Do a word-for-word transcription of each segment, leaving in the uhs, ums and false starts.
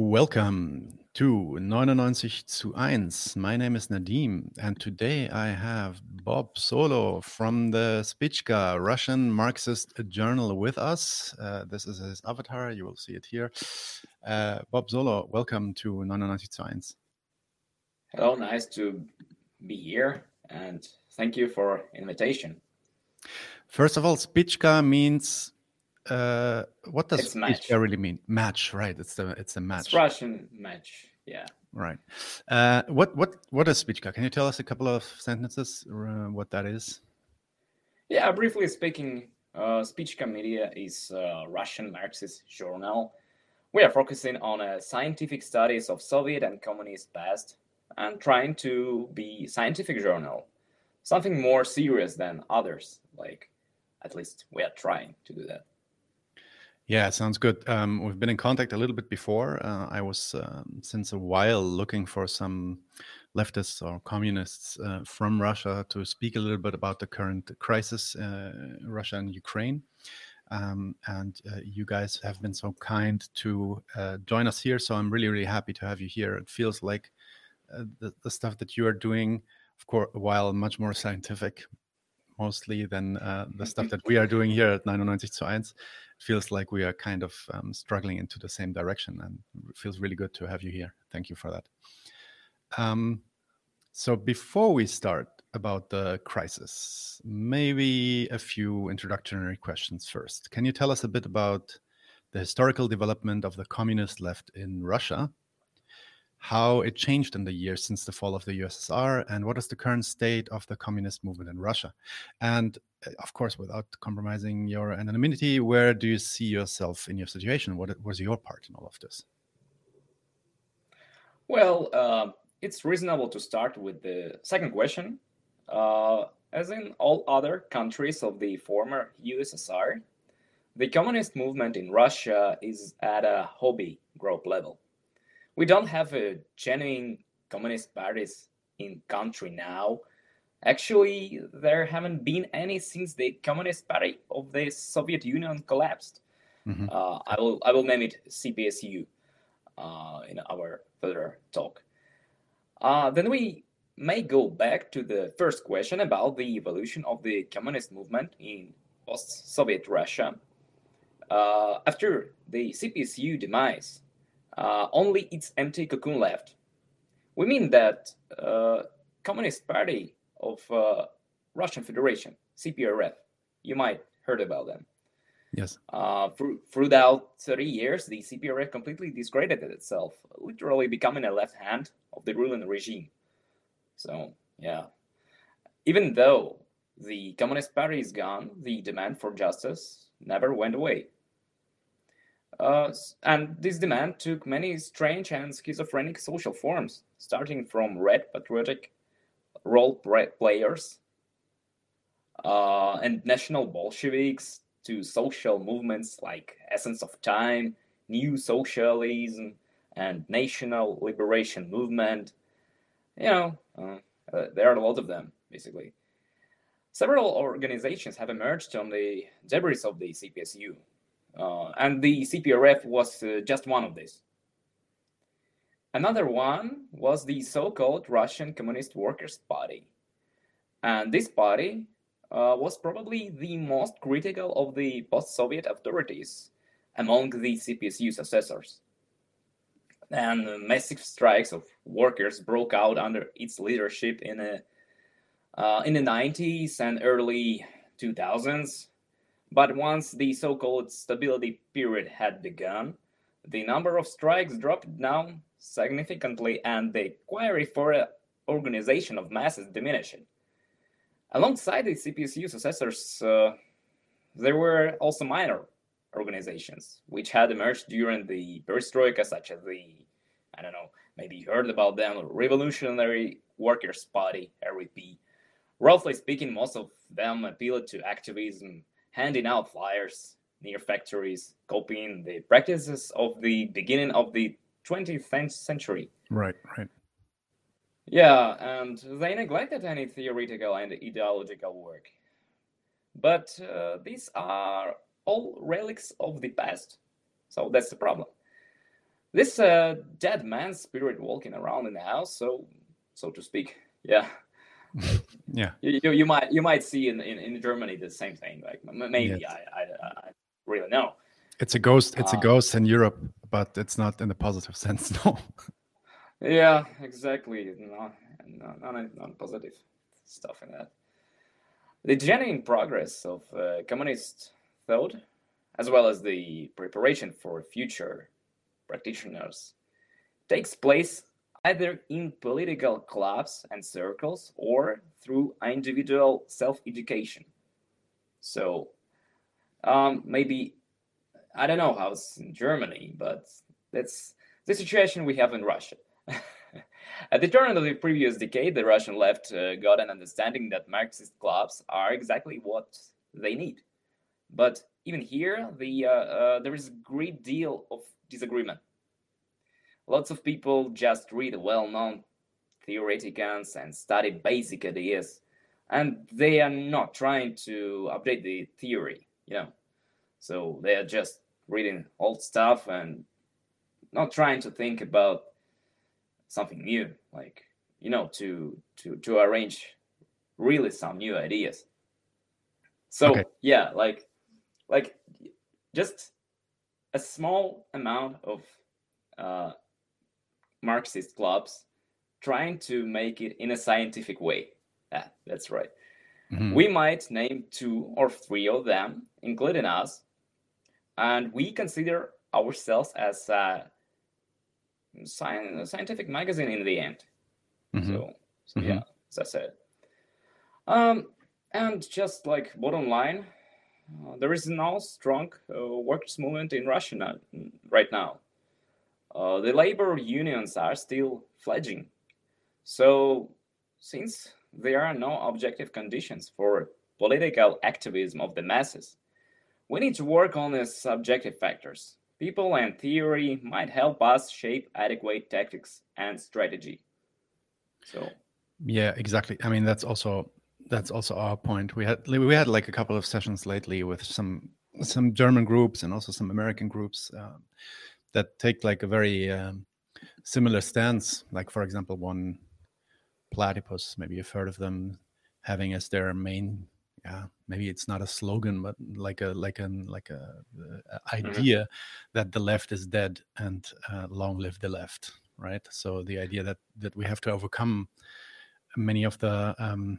Welcome to neunundneunzig zu eins. My name is Nadim, and today I have Bob Solo from the Spichka Russian Marxist Journal with us. Uh, this is his avatar. You will see it here. Uh, Bob Solo, welcome to neunundneunzig zu eins. Hello, nice to be here, and thank you for invitation. First of all, Spichka means uh, what does It's match. Spichka really mean? Match, right? It's the it's a match. It's Russian match, yeah. Right. Uh, what what what is Spichka? Can you tell us a couple of sentences uh, what that is? Yeah, briefly speaking, uh, Spichka Media is a Russian Marxist journal. We are focusing on uh, scientific studies of Soviet and communist past and trying to be scientific journal, something more serious than others. Like, at least we are trying to do that. Yeah, sounds good. Um, we've been in contact a little bit before. Uh, I was um, since a while looking for some leftists or communists uh, from Russia to speak a little bit about the current crisis, uh, Russia and Ukraine. Um, and uh, you guys have been so kind to uh, join us here. So I'm really, really happy to have you here. It feels like uh, the, the stuff that you are doing, of course, while much more scientific, mostly than uh, the stuff that we are doing here at neunundneunzig zu eins. It feels like we are kind of um, struggling into the same direction, and it feels really good to have you here. Thank you for that. Um, so before we start about the crisis, maybe a few introductory questions first. Can you tell us a bit about the historical development of the communist left in Russia, how it changed in the years since the fall of the U S S R, and what is the current state of the communist movement in Russia? And of course, without compromising your anonymity, where do you see yourself in your situation? What was your part in all of this? Well, uh, it's reasonable to start with the second question. Uh, as in all other countries of the former U S S R, the communist movement in Russia is at a hobby group level. We don't have a genuine communist parties in country now. Actually, there haven't been any since the Communist Party of the Soviet Union collapsed. Mm-hmm. uh, I will I will name it C P S U uh, in our further talk. Uh, then we may go back to the first question about the evolution of the communist movement in post-Soviet Russia. Uh, after the C P S U demise, uh, only its empty cocoon left. We mean that uh, Communist Party of uh, Russian Federation, C P R F, you might heard about them. Yes. Uh, through, throughout thirty years, the C P R F completely discredited itself, literally becoming a left hand of the ruling regime. So, yeah. Even though the Communist Party is gone, the demand for justice never went away. Uh, and this demand took many strange and schizophrenic social forms, starting from red patriotic role players uh, and national Bolsheviks to social movements like Essence of Time, New Socialism, and National Liberation Movement. You know, uh, uh, there are a lot of them, basically. Several organizations have emerged from the debris of the C P S U, uh, and the C P R F was uh, just one of these. Another one was the so-called Russian Communist Workers' Party. And this party uh, was probably the most critical of the post-Soviet authorities among the C P S U successors. And massive strikes of workers broke out under its leadership in, a, uh, in the nineties and early two thousands. But once the so-called stability period had begun, the number of strikes dropped down significantly and the query for an organization of masses diminished. Alongside the C P S U successors, uh, there were also minor organizations which had emerged during the perestroika, such as the, I don't know, maybe you heard about them, Revolutionary Workers' Party, R V P. Roughly speaking, most of them appealed to activism, handing out flyers near factories, copying the practices of the beginning of the twentieth century. Right, right. Yeah, and they neglected any theoretical and ideological work. But uh, these are all relics of the past. So that's the problem. this uh, dead man spirit walking around in the house, so so to speak. Yeah. Like, yeah. You, you, you might you might see in, in, in Germany the same thing. Like maybe Yes. I, I I really know. It's a ghost. It's a Uh, ghost in Europe, but it's not in a positive sense. No. yeah, exactly. No, no, not not positive stuff in that. The genuine progress of uh, communist thought, as well as the preparation for future practitioners, takes place either in political clubs and circles or through individual self-education. So um, maybe, I don't know how it's in Germany, but that's the situation we have in Russia. At the turn of the previous decade, the Russian left uh, got an understanding that Marxist clubs are exactly what they need. But even here, the uh, uh, there is a great deal of disagreement. Lots of people just read well-known theoreticons and study basic ideas, and they are not trying to update the theory, you know. So they are just reading old stuff and not trying to think about something new, like, you know, to to to arrange really some new ideas. So Okay. yeah, like like just a small amount of uh, Marxist clubs trying to make it in a scientific way. Yeah, that's right. Mhm. We might name two or three of them, including us, and we consider ourselves as a, sci- a scientific magazine in the end. Mhm. So, so Mhm. yeah, as I said. Um, and just like bottom line, uh, there is no strong uh, workers' movement in Russia now, right now. Uh, the labor unions are still fledgling. So, since there are no objective conditions for political activism of the masses, we need to work on the subjective factors. People and theory might help us shape adequate tactics and strategy. So, Yeah, exactly. I mean, that's also that's also our point. We had we had like a couple of sessions lately with some some German groups and also some American groups um, that take like a very um, similar stance. Like, for example, one Platypus, maybe you've heard of them, having as their main, yeah, maybe it's not a slogan, but like a like an like a, a idea that the left is dead and uh, long live the left, right? So the idea that that we have to overcome many of the um,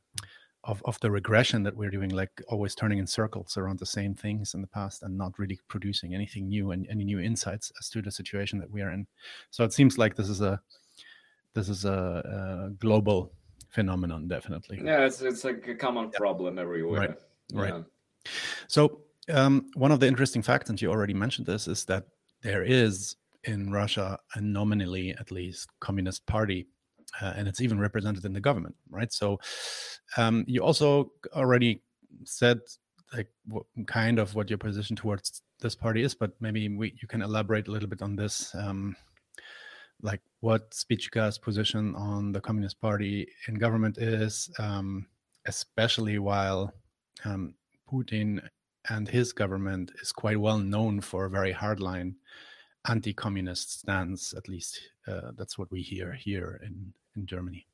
of of the regression that we're doing, like always turning in circles around the same things in the past and not really producing anything new and any new insights as to the situation that we are in. So it seems like this is a this is a, a global phenomenon, definitely. yeah, it's, it's like a common Yeah. problem everywhere. Right. Yeah. Right. So um, one of the interesting facts, and you already mentioned this, is that there is in Russia a nominally, at least, communist party, uh, and it's even represented in the government, right? So um, you also already said like what, kind of what your position towards this party is, but maybe we, you can elaborate a little bit on this. Um, like what Spichka's position on the Communist Party in government is, um, especially while um, Putin and his government is quite well known for a very hardline anti-communist stance. At least uh, that's what we hear here in, in Germany.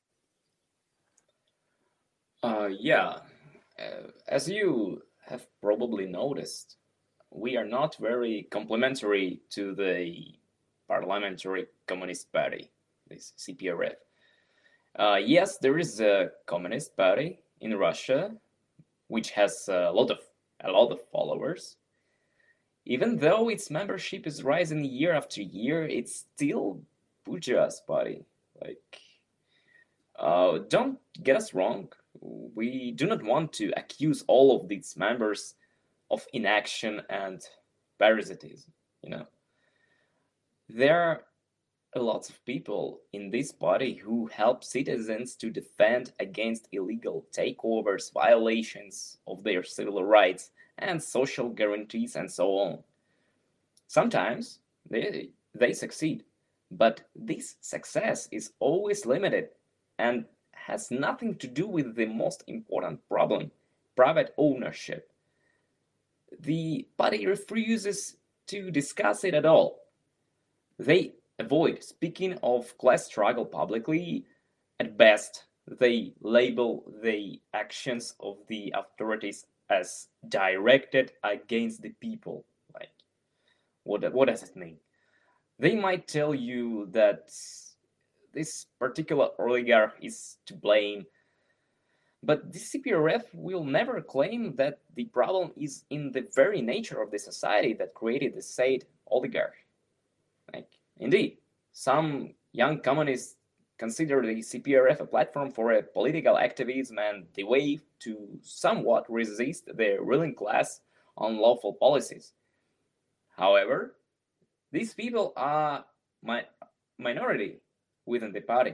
Uh, yeah, uh, as you have probably noticed, we are not very complementary to the Parliamentary Communist Party, this C P R F. Uh, yes, there is a Communist Party in Russia, which has a lot of a lot of followers. Even though its membership is rising year after year, it's still bourgeois party. Like, uh, don't get us wrong. We do not want to accuse all of these members of inaction and parasitism. You know, there are a lot of people in this body who help citizens to defend against illegal takeovers, violations of their civil rights and social guarantees, and so on. Sometimes they, they succeed, but this success is always limited and has nothing to do with the most important problem, private ownership. The party refuses to discuss it at all. They avoid speaking of class struggle publicly. At best, they label the actions of the authorities as directed against the people. Like, what, what does it mean? They might tell you that this particular oligarch is to blame, but the C P R F will never claim that the problem is in the very nature of the society that created the said oligarch. Like, indeed, some young communists consider the C P R F a platform for a political activism and the way to somewhat resist the ruling class on lawful policies. However, these people are my minority within the party.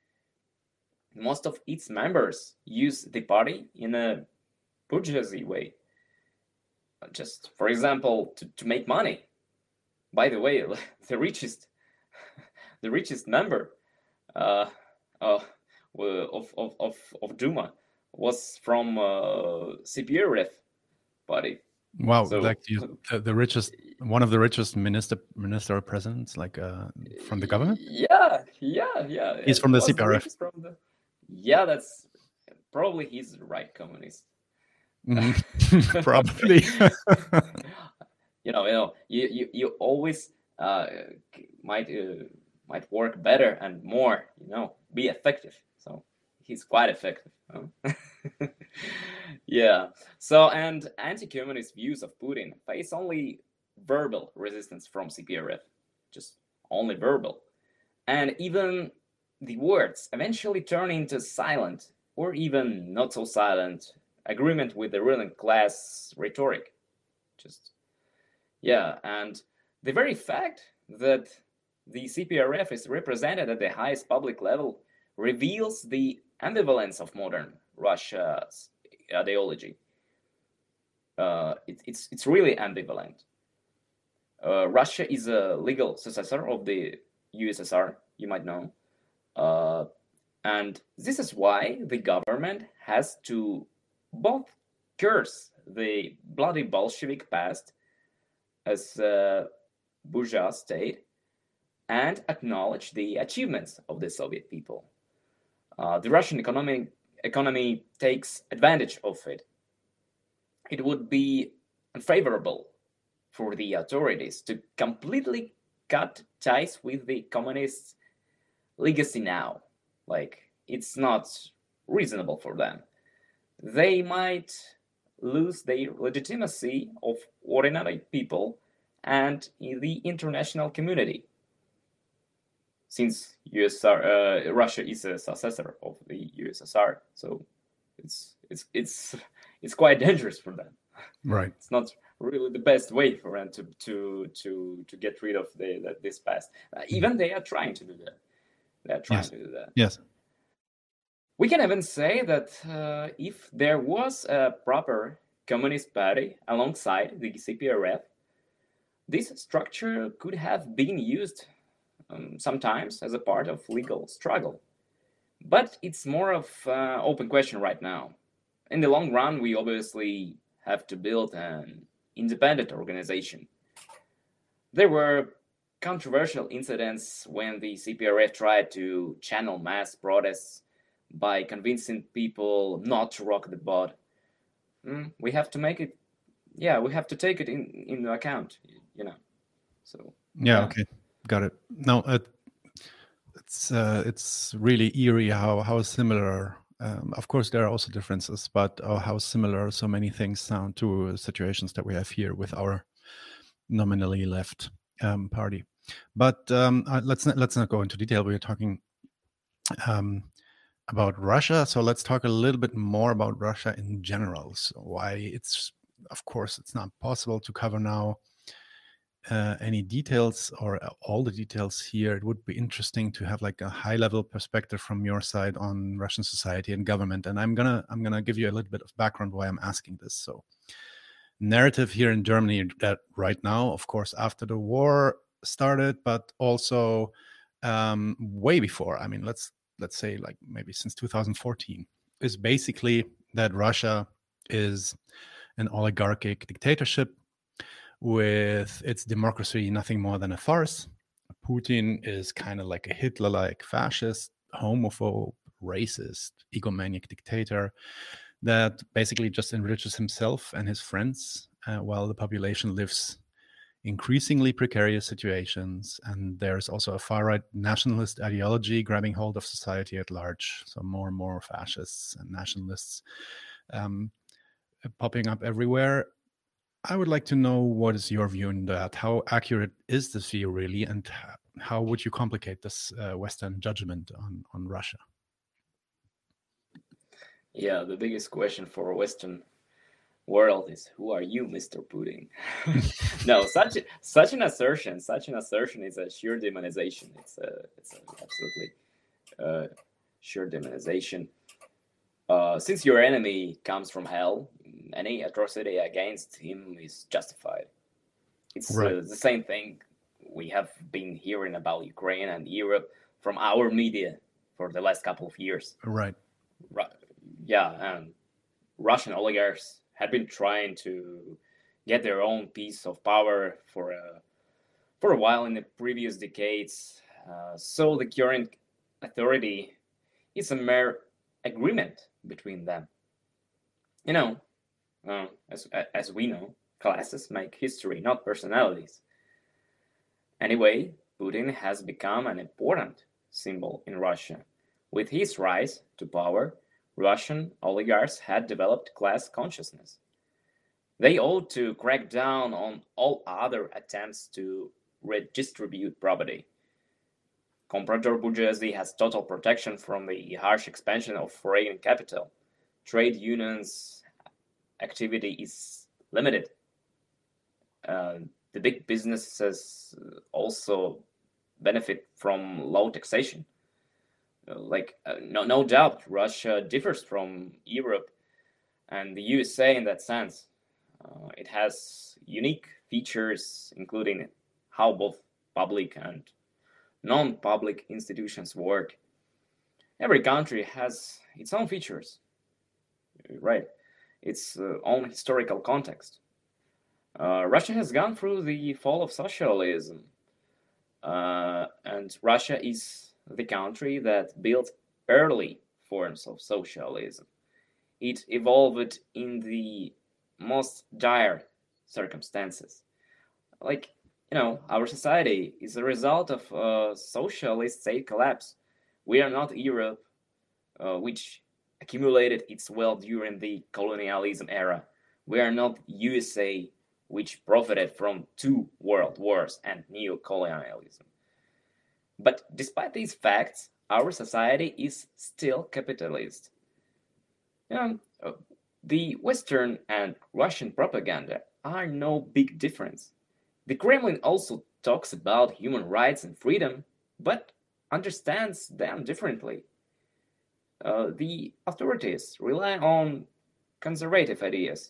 Most of its members use the party in a bourgeoisie way. Just, for example, to, to make money. By the way, the richest, the richest member uh, uh, of, of, of, of Duma was from uh, C P R F party. Wow, so, like you, the, the richest, one of the richest minister, minister presidents, like uh, from the government. Yeah, yeah, yeah. He's from the C P R F. From the, yeah, that's probably he's the right communist. Mm-hmm. Probably. you know, you know, you you, you always uh, might uh, might work better and more. You know, be effective. So he's quite effective. Huh? Yeah. So, and anti-communist views of Putin face only verbal resistance from C P R F, just only verbal, and even the words eventually turn into silent or even not so silent agreement with the ruling class rhetoric. Just, yeah, and the very fact that the C P R F is represented at the highest public level reveals the ambivalence of modern Russia's ideology. Uh, it, it's it's really ambivalent. Uh, Russia is a legal successor of the U S S R, you might know. Uh, and this is why the government has to both curse the bloody Bolshevik past as a bourgeois state and acknowledge the achievements of the Soviet people. Uh, the Russian economy, economy takes advantage of it. It would be unfavorable for the authorities to completely cut ties with the communists' legacy now. Like, it's not reasonable for them. They might lose their legitimacy of ordinary people and in the international community, since U S S R, uh, Russia is a successor of the U S S R. So it's it's it's it's quite dangerous for them. Right. It's not really the best way for them to to to to get rid of the, the this past. Uh, even they are trying to do that. They are trying yes. to do that. Yes. We can even say that uh, if there was a proper communist party alongside the C P R F, this structure could have been used um, sometimes as a part of legal struggle. But it's more of an open question right now. In the long run, we obviously have to build an independent organization. There were controversial incidents when the C P R F tried to channel mass protests by convincing people not to rock the boat. Mm, we have to make it, yeah, we have to take it in into account, you know. So yeah, yeah. Okay, got it. No, it, it's uh, it's really eerie how how similar. Um, of course, there are also differences, but uh, how similar so many things sound to situations that we have here with our nominally left um, party. But um, uh, let's not, let's not go into detail. We are talking um, about Russia, so let's talk a little bit more about Russia in general. So why it's, of course, it's not possible to cover now uh, any details or all the details here. It would be interesting to have like a high-level perspective from your side on Russian society and government. And I'm gonna I'm gonna give you a little bit of background why I'm asking this. So, narrative here in Germany that right now, of course, after the war started, but also um, way before. I mean, let's let's say like maybe since two thousand fourteen, is basically that Russia is an oligarchic dictatorship with its democracy nothing more than a farce. Putin is kind of like a Hitler-like fascist, homophobe, racist, egomaniac dictator that basically just enriches himself and his friends uh, while the population lives increasingly precarious situations. And there's also a far-right nationalist ideology grabbing hold of society at large. So more and more fascists and nationalists um, popping up everywhere. I would like to know, what is your view on that? How accurate is this view really? And how would you complicate this uh, Western judgment on, on Russia? Yeah, the biggest question for Western world is, who are you, Mister Putin? No, such such an assertion, such an assertion is a sheer demonization. It's a it's a absolutely uh, sheer demonization. Uh, since your enemy comes from hell, any atrocity against him is justified. It's Right. uh, the same thing we have been hearing about Ukraine and Europe from our media for the last couple of years. Right. Ru- yeah, and Russian oligarchs had been trying to get their own piece of power for a for a while in the previous decades. Uh, so the current authority is a mere agreement between them. You know, uh, as as we know, classes make history, not personalities. Anyway, Putin has become an important symbol in Russia. With his rise to power, Russian oligarchs had developed class consciousness. They ought to crack down on all other attempts to redistribute property. Comprador bourgeoisie has total protection from the harsh expansion of foreign capital. Trade unions' activity is limited. Uh, the big businesses also benefit from low taxation. Uh, like, uh, no, no doubt, Russia differs from Europe and the U S A in that sense. Uh, it has unique features, including how both public and non-public institutions work. Every country has its own features, right? Its uh, own historical context. Uh, Russia has gone through the fall of socialism, uh, and Russia is the country that built early forms of socialism. It evolved in the most dire circumstances. Like, you know, our society is a result of a socialist state collapse. We are not Europe, uh, which accumulated its wealth during the colonialism era. We are not U S A, which profited from two world wars and neo-colonialism. But despite these facts, our society is still capitalist. You know, uh, the Western and Russian propaganda are no big difference. The Kremlin also talks about human rights and freedom, but understands them differently. Uh, the authorities rely on conservative ideas,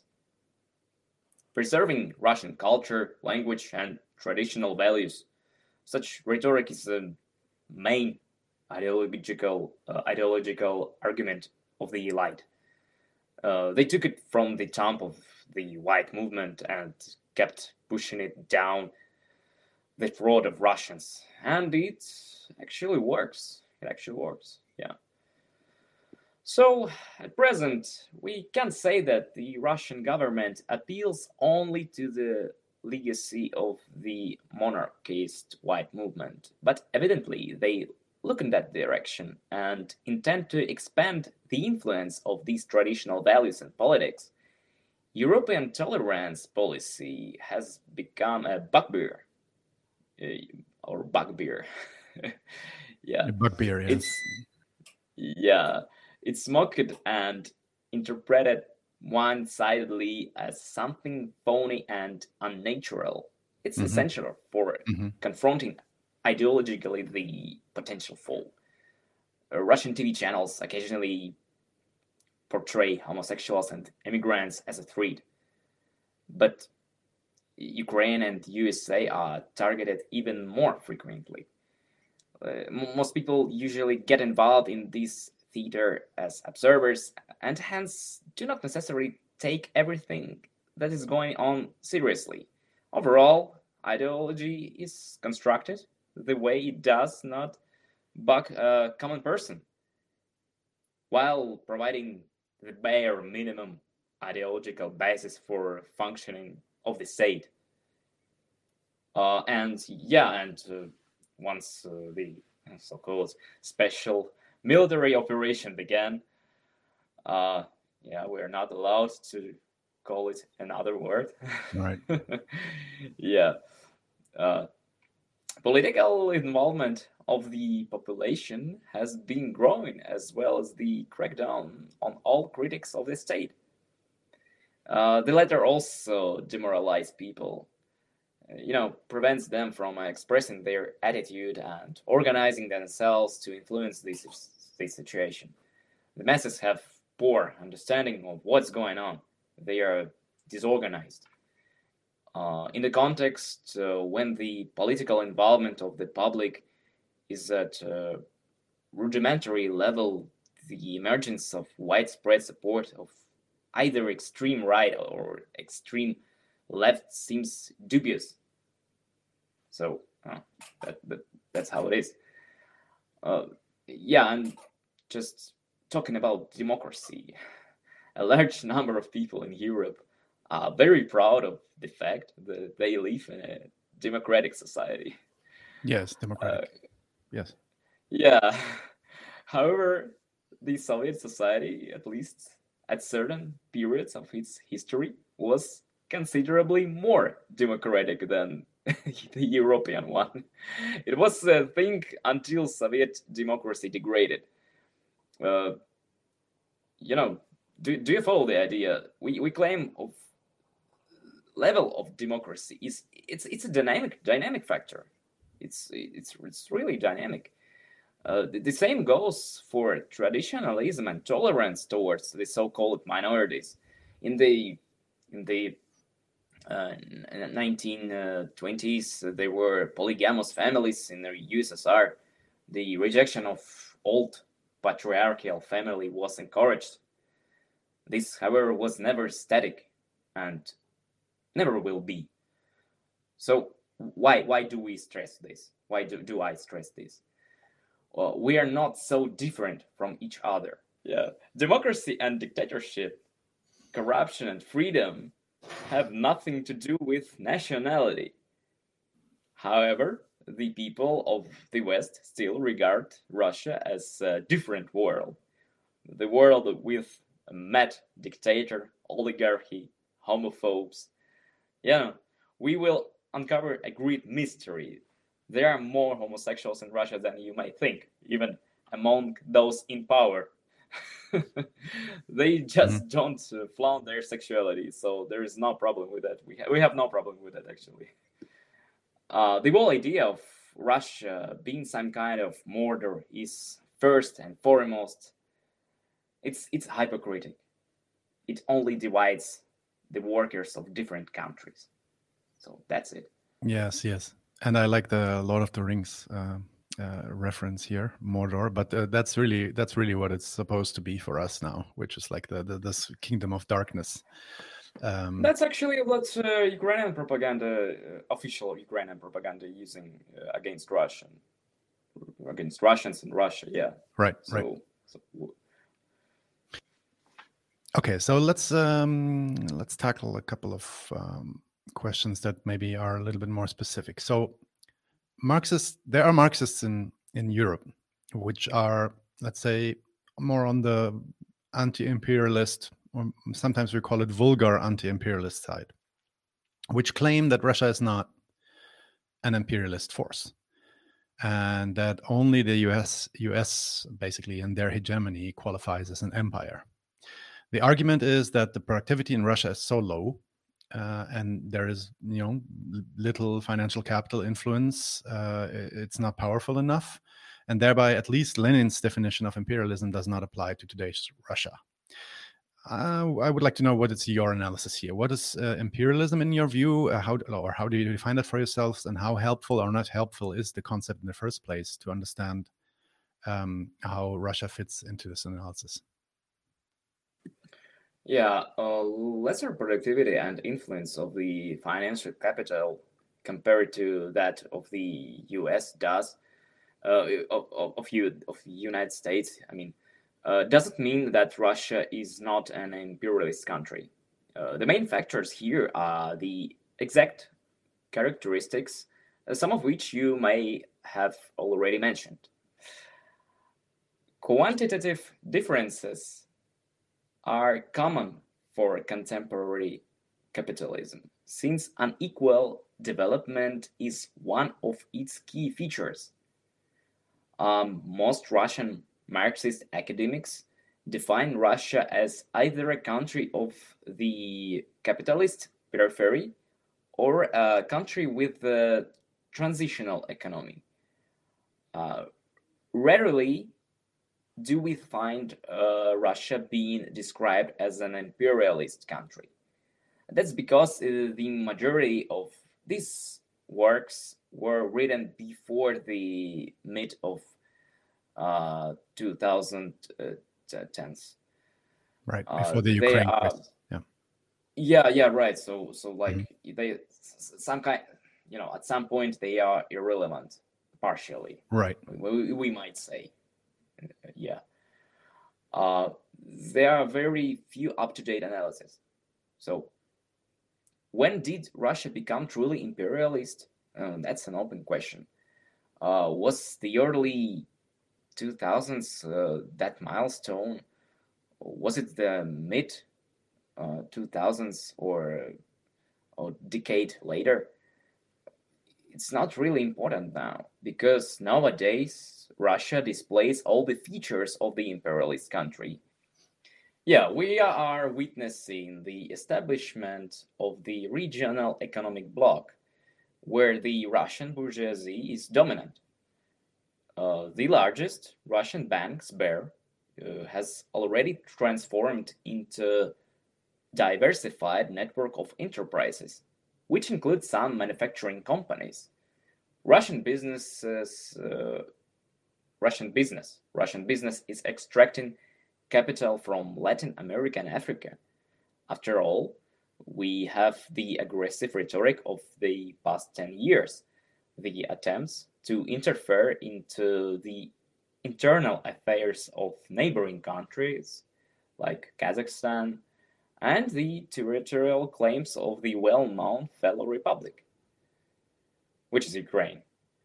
preserving Russian culture, language, and traditional values. Such rhetoric is the main ideological uh, ideological argument of the elite. Uh, they took it from the top of the white movement and kept pushing it down the throat of Russians, and it actually works. It actually works. Yeah. So at present, we can say that the Russian government appeals only to the legacy of the monarchist white movement, but evidently they look in that direction and intend to expand the influence of these traditional values in politics. European tolerance policy has become a bugbear, uh, or bugbear. Yeah, Bugbear, yes. it's yeah, it's mocked and interpreted one-sidedly as something phony and unnatural. It's Mhm. essential for Mhm. confronting ideologically the potential foe. Uh, Russian T V channels occasionally portray homosexuals and immigrants as a threat, but Ukraine and U S A are targeted even more frequently. Uh, m- most people usually get involved in this theater as observers and hence do not necessarily take everything that is going on seriously. Overall, ideology is constructed, the way it does not bug a common person, while providing the bare minimum ideological basis for functioning of the state. Uh, and yeah, and uh, once uh, the so-called special military operation began, uh, yeah, we're not allowed to call it another word. Right. Yeah. Uh, political involvement of the population has been growing, as well as the crackdown on all critics of the state. Uh, the latter also demoralize people, you know, prevents them from expressing their attitude and organizing themselves to influence this, this situation. The masses have poor understanding of what's going on. They are disorganized. Uh, in the context uh, when the political involvement of the public is at a rudimentary level, the emergence of widespread support of either extreme right or extreme left seems dubious. So uh, that, that that's how it is. Uh, yeah, and just talking about democracy, a large number of people in Europe are very proud of the fact that they live in a democratic society. Yes, democratic. Uh, yes. Yeah. However, the Soviet society, at least at certain periods of its history, was considerably more democratic than the European one. It was a thing until Soviet democracy degraded. Uh, you know, do, do you follow the idea? We, we claim of level of democracy is it's it's a dynamic dynamic factor. It's it's it's really dynamic. Uh, the, the same goes for traditionalism and tolerance towards the so-called minorities. In the in the uh, nineteen twenties, uh, there were polygamous families in the U S S R. The rejection of old patriarchal family was encouraged. This, however, was never static and never will be. So why why do we stress this? Why do, do I stress this? Well, we are not so different from each other. Yeah, democracy and dictatorship, corruption and freedom have nothing to do with nationality. However, the people of the West still regard Russia as a different world. The world with a mad dictator, oligarchy, homophobes. Yeah, we will uncover a great mystery. There are more homosexuals in Russia than you might think, even among those in power. They just mm-hmm. don't uh, flaunt their sexuality, so there is no problem with that. We, ha- we have no problem with that, actually. Uh, the whole idea of Russia being some kind of murder is first and foremost, it's it's hypocritical. It only divides the workers of different countries. So that's it. Yes, yes. And I like the Lord of the Rings uh, uh, reference here, Mordor. But uh, that's really that's really what it's supposed to be for us now, which is like the, the this kingdom of darkness. Um, that's actually what uh, Ukrainian propaganda, uh, official Ukrainian propaganda, using uh, against Russian, against Russians in Russia. Yeah. Right. So, right. So... Okay, so let's um, let's tackle a couple of um, questions that maybe are a little bit more specific. So, Marxists, there are Marxists in in Europe, which are, let's say, more on the anti-imperialist, or sometimes we call it vulgar anti-imperialist side, which claim that Russia is not an imperialist force, and that only the U S U S basically in their hegemony qualifies as an empire. The argument is that the productivity in Russia is so low, uh, and there is, you know, little financial capital influence. Uh, it's not powerful enough, and thereby, at least Lenin's definition of imperialism does not apply to today's Russia. Uh, I would like to know what is your analysis here. What is uh, imperialism in your view? Uh, how or how do you define that for yourselves, and how helpful or not helpful is the concept in the first place to understand um, how Russia fits into this analysis? Yeah, uh, lesser productivity and influence of the financial capital compared to that of the U S does, uh, of, of, of, you, of the United States, I mean, uh, doesn't mean that Russia is not an imperialist country. Uh, the main factors here are the exact characteristics, uh, some of which you may have already mentioned. Quantitative differences are common for contemporary capitalism, since unequal development is one of its key features. Um, most Russian Marxist academics define Russia as either a country of the capitalist periphery or a country with a transitional economy. Uh, rarely do we find uh, Russia being described as an imperialist country. That's because uh, the majority of these works were written before the mid of uh, twenty tens. Right, Uh, before the they Ukraine are, crisis. Yeah. yeah, yeah, right. So, so like they, s- some kind, you know, at some point they are irrelevant, partially. Right. We, we might say, yeah. Uh, there are very few up-to-date analyses. So, when did Russia become truly imperialist? Uh, that's an open question. Uh, was the early two thousands uh, that milestone? Was it the mid uh, two thousands or a decade later? It's not really important now, because nowadays Russia displays all the features of the imperialist country. Yeah, we are witnessing the establishment of the regional economic bloc, where the Russian bourgeoisie is dominant. Uh, the largest Russian bank, Sber, uh, has already transformed into diversified network of enterprises, which includes some manufacturing companies. Russian businesses, uh, Russian business, Russian business is extracting capital from Latin America and Africa. After all, we have the aggressive rhetoric of the past ten years, the attempts to interfere into the internal affairs of neighboring countries like Kazakhstan, and the territorial claims of the well-known fellow republic, which is Ukraine.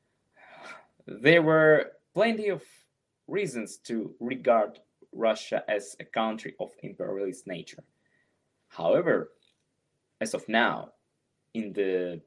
There were plenty of reasons to regard Russia as a country of imperialist nature. However, as of now, in the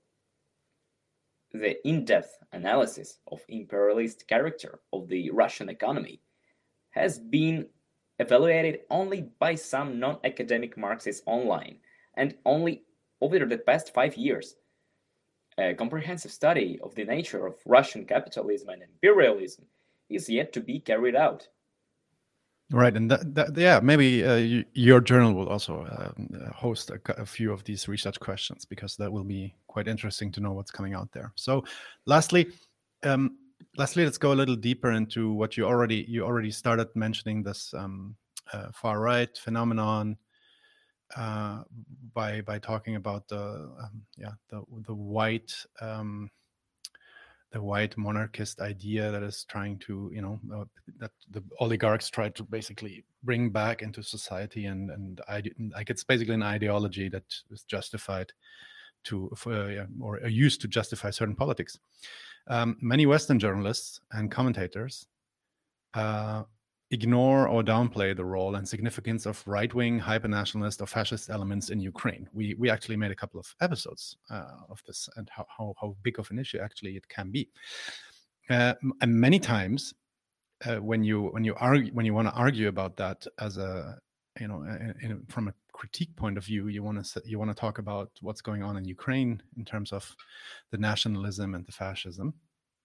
the in-depth analysis of imperialist character of the Russian economy has been evaluated only by some non-academic Marxists online, and only over the past five years. A comprehensive study of the nature of Russian capitalism and imperialism is yet to be carried out. Right, and that, that, yeah, maybe uh, you, your journal will also uh, host a, a few of these research questions, because that will be quite interesting to know what's coming out there. So, lastly, um, lastly, let's go a little deeper into what you already you already started mentioning, this um, uh, far right phenomenon uh, by by talking about the um, yeah the the white. Um, the white monarchist idea that is trying to, you know, uh, that the oligarchs try to basically bring back into society, and and I like it's basically an ideology that is justified to for, uh, or used to justify certain politics. Um, many Western journalists and commentators uh, ignore or downplay the role and significance of right-wing, hyper-nationalist or fascist elements in Ukraine. We we actually made a couple of episodes uh, of this, and how, how how big of an issue actually it can be. Uh, and many times, uh, when you when you argue when you want to argue about that as a you know in, in, from a critique point of view, you want to you want to talk about what's going on in Ukraine in terms of the nationalism and the fascism.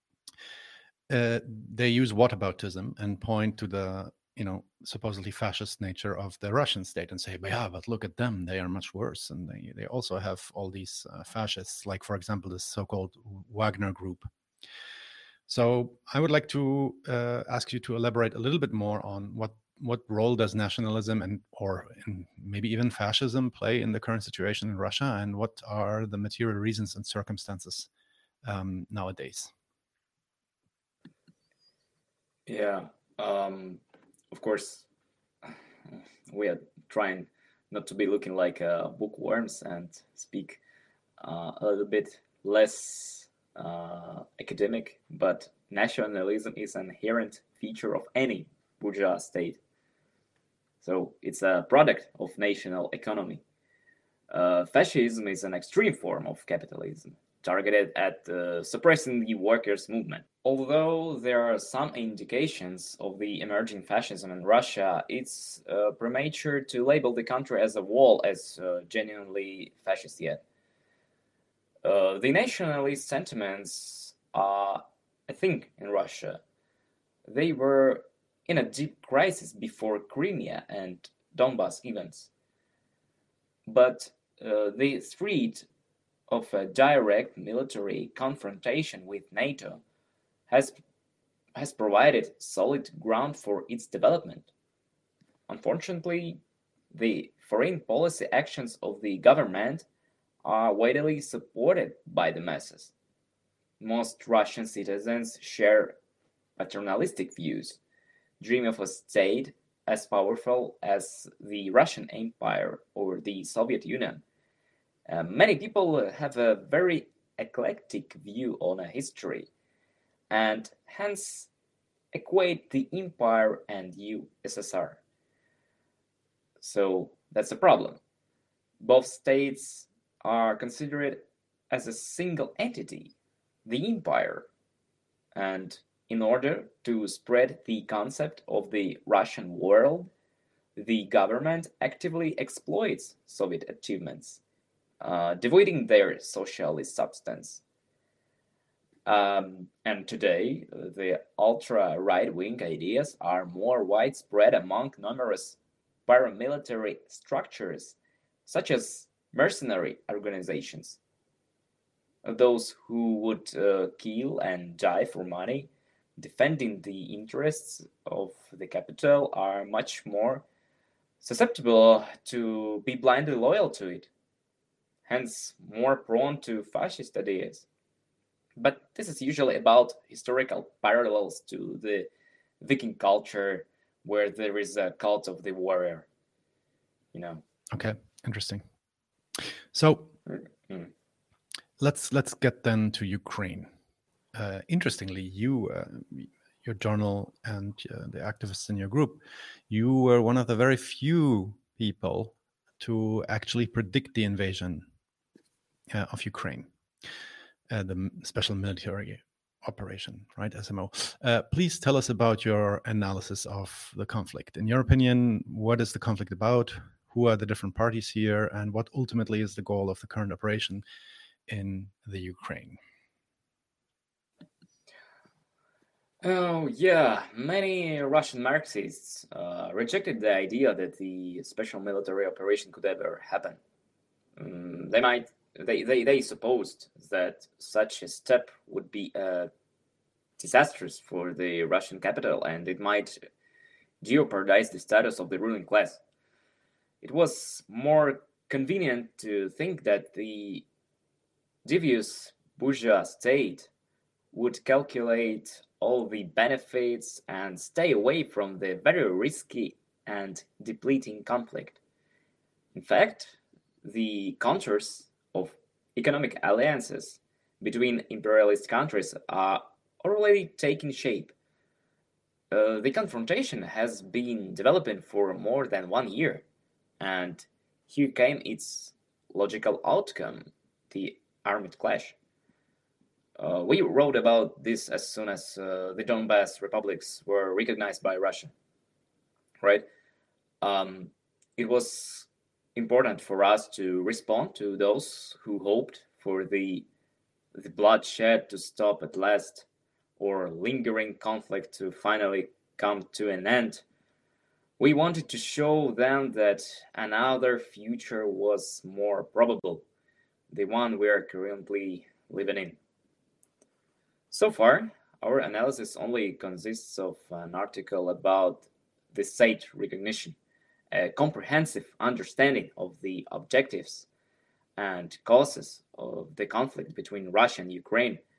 Uh, they use whataboutism and point to the, you know, supposedly fascist nature of the Russian state and say, but yeah, but look at them, they are much worse, and they, they also have all these uh, fascists, like, for example, this so-called Wagner group. So I would like to uh, ask you to elaborate a little bit more on what what role does nationalism and or in maybe even fascism play in the current situation in Russia, and what are the material reasons and circumstances um, nowadays? Yeah, um, of course, we are trying not to be looking like uh, bookworms and speak uh, a little bit less uh, academic, but nationalism is an inherent feature of any bourgeois state. So it's a product of national economy. Uh, fascism is an extreme form of capitalism targeted at uh, suppressing the workers' movement. Although there are some indications of the emerging fascism in Russia, it's uh, premature to label the country as a whole as uh, genuinely fascist yet. Uh, the nationalist sentiments are, I think, in Russia, they were in a deep crisis before Crimea and Donbass events. But uh, the threat of a direct military confrontation with NATO has has provided solid ground for its development. Unfortunately, the foreign policy actions of the government are widely supported by the masses. Most Russian citizens share paternalistic views, dream of a state as powerful as the Russian Empire or the Soviet Union. Uh, many people have a very eclectic view on a history and hence equate the empire and U S S R. So that's a problem. Both states are considered as a single entity, the empire, and in order to spread the concept of the Russian world, the government actively exploits Soviet achievements, uh, devoiding their socialist substance. Um, and today, the ultra right wing ideas are more widespread among numerous paramilitary structures, such as mercenary organizations. Those who would uh, kill and die for money, defending the interests of the capital, are much more susceptible to be blindly loyal to it, hence more prone to fascist ideas. But this is usually about historical parallels to the Viking culture, where there is a cult of the warrior. You know. Okay, interesting. So mm-hmm. let's let's get then to Ukraine. Uh, interestingly, you, uh, your journal, and uh, the activists in your group, you were one of the very few people to actually predict the invasion uh, of Ukraine, uh, the special military operation, right, S M O. Uh, please tell us about your analysis of the conflict. In your opinion, what is the conflict about? Who are the different parties here? And what ultimately is the goal of the current operation in the Ukraine? Oh, yeah. Many Russian Marxists uh, rejected the idea that the special military operation could ever happen. Um, they might, they, they, they supposed that such a step would be uh, disastrous for the Russian capital and it might jeopardize the status of the ruling class. It was more convenient to think that the devious bourgeois state would calculate all the benefits and stay away from the very risky and depleting conflict. In fact, the contours of economic alliances between imperialist countries are already taking shape. Uh, the confrontation has been developing for more than one year, and here came its logical outcome, the armed clash. Uh, we wrote about this as soon as uh, the Donbass republics were recognized by Russia, right? Um, it was important for us to respond to those who hoped for the, the bloodshed to stop at last or lingering conflict to finally come to an end. We wanted to show them that another future was more probable, the one we are currently living in. So far, our analysis only consists of an article about the state recognition, a comprehensive understanding of the objectives and causes of the conflict between Russia and Ukraine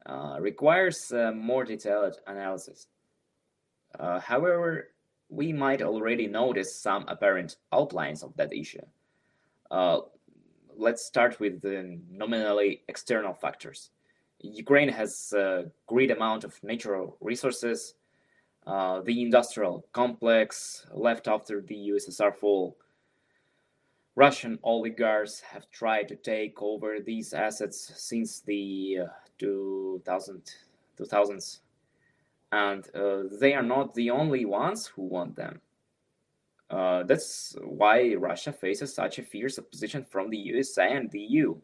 uh, requires uh, more detailed analysis. Uh, however, we might already notice some apparent outlines of that issue. Uh, let's start with the nominally external factors. Ukraine has a great amount of natural resources. Uh, the industrial complex left after the U S S R fall. Russian oligarchs have tried to take over these assets since the uh, two thousands, and uh, they are not the only ones who want them. Uh, that's why Russia faces such a fierce opposition from the U S A and the E U.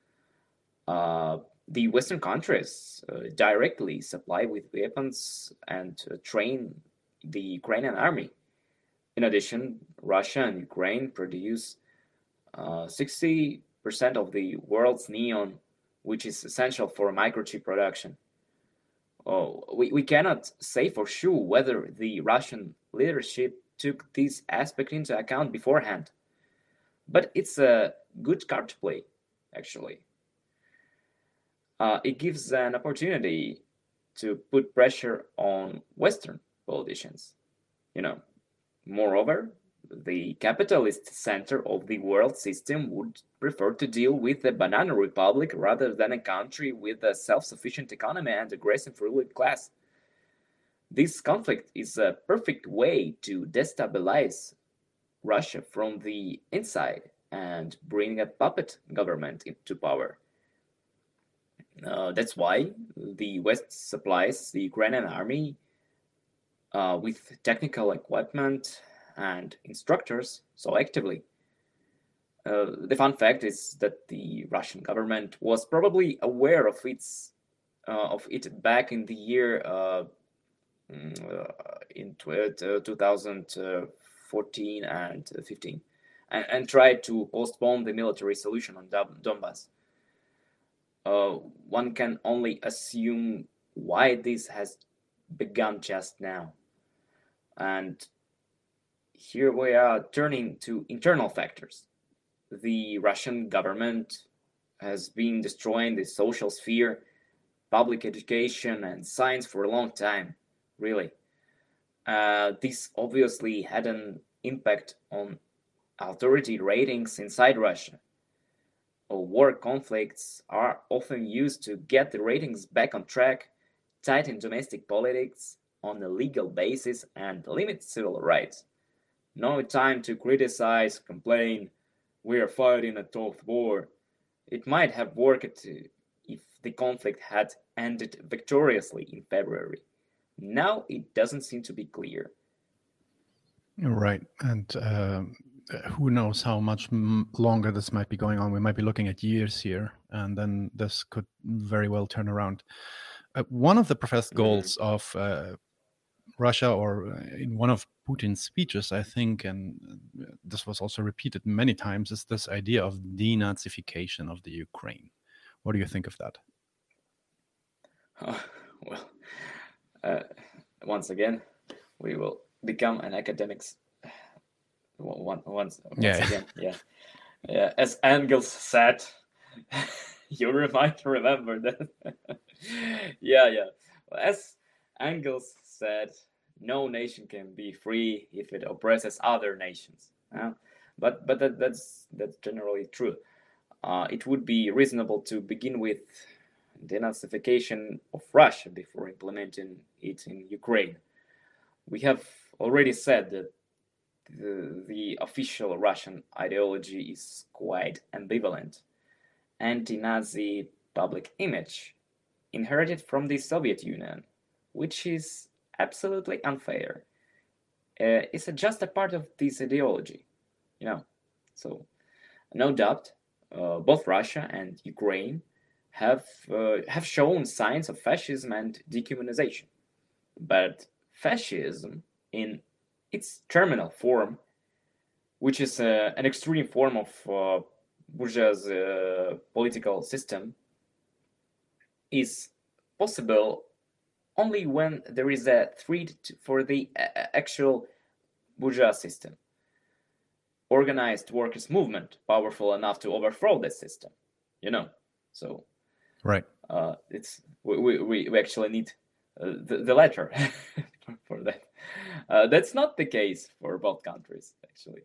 Uh, the Western countries uh, directly supply with weapons and uh, train the Ukrainian army. In addition, Russia and Ukraine produce uh, sixty percent of the world's neon, which is essential for microchip production. Oh, we, we cannot say for sure whether the Russian leadership took this aspect into account beforehand, but it's a good card to play, actually. Uh, it gives an opportunity to put pressure on Western politicians. You know, moreover, the capitalist center of the world system would prefer to deal with a banana republic rather than a country with a self-sufficient economy and aggressive ruling class. This conflict is a perfect way to destabilize Russia from the inside and bring a puppet government into power. Uh, that's why the West supplies the Ukrainian army uh, with technical equipment and instructors so actively. Uh, the fun fact is that the Russian government was probably aware of its uh, of it back in the year uh, uh, in two thousand fourteen and fifteen, and, and tried to postpone the military solution on Donbass. Uh, one can only assume why this has begun just now. And here we are turning to internal factors. The Russian government has been destroying the social sphere, public education, and science for a long time, really. Uh, this obviously had an impact on authority ratings inside Russia. War conflicts are often used to get the ratings back on track, tighten domestic politics on a legal basis, and limit civil rights. No time to criticize, complain, we are fighting a tough war. It might have worked if the conflict had ended victoriously in February. Now it doesn't seem to be clear. Right. And uh, who knows how much m- longer this might be going on. We might be looking at years here, and then this could very well turn around. Uh, one of the professed goals mm-hmm. of uh, Russia, or in one of Putin's speeches, I think, and this was also repeated many times, is this idea of denazification of the Ukraine. What do you think of that? Oh, well, uh, once again, we will become an academics. One, once, once yeah. again, yeah, yeah. As Engels said, you might remember that. yeah, yeah. As Engels said, no nation can be free if it oppresses other nations. Uh, but but that, that's that's generally true. Uh, it would be reasonable to begin with denazification of Russia before implementing it in Ukraine. We have already said that the, the official Russian ideology is quite ambivalent. Anti-Nazi public image inherited from the Soviet Union, which is absolutely unfair. Uh, it's just a part of this ideology, you know. So, no doubt, uh, both Russia and Ukraine have uh, have shown signs of fascism and dehumanization. But fascism, in its terminal form, which is uh, an extreme form of uh, bourgeois uh, political system, is possible only when there is a threat for the actual bourgeois system. Organized workers' movement powerful enough to overthrow this system, you know. So, right. Uh, it's we, we, we actually need uh, the, the letter for that. Uh, that's not the case for both countries, actually.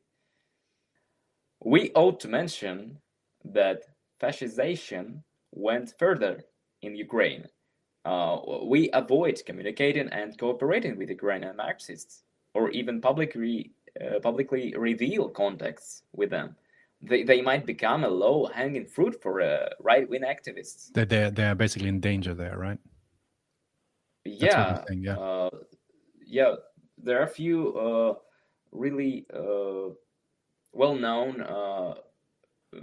We ought to mention that fascization went further in Ukraine. Uh, we avoid communicating and cooperating with Ukrainian Marxists, or even publicly uh, publicly reveal contacts with them. They, they might become a low-hanging fruit for uh, right-wing activists. They they they are basically in danger there, right? That's what you're Yeah, saying, yeah. uh, yeah. There are a few uh, really uh, well-known, uh, uh,